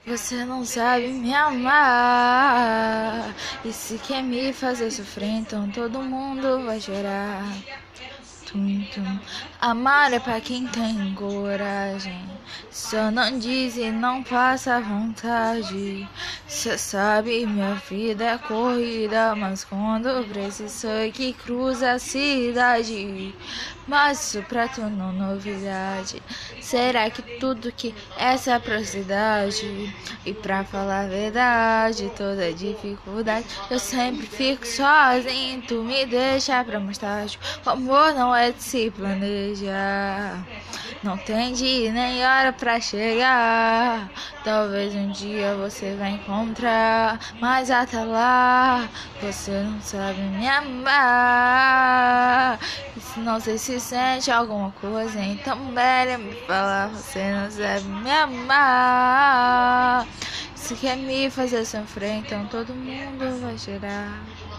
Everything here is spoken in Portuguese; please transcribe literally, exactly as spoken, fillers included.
Você não sabe me amar. E se quer me fazer sofrer, então todo mundo vai chorar. Tum, tum. Amar é pra quem tem coragem. Só não diz e não passa vontade. Cê sabe, minha vida é corrida, mas quando preciso é que cruza a cidade. Mas isso pra tu não é novidade. Será que tudo que essa atrocidade? E pra falar a verdade, toda dificuldade, eu sempre fico sozinho. Tu me deixa pra mais tarde. O amor não é de se planejar. Não tem dia nem hora pra chegar. Talvez um dia você vai encontrar, mas até lá você não sabe me amar. E se não sei se sente alguma coisa, então melhor me falar. Você não sabe me amar. Se quer me fazer sofrer, então todo mundo vai chorar.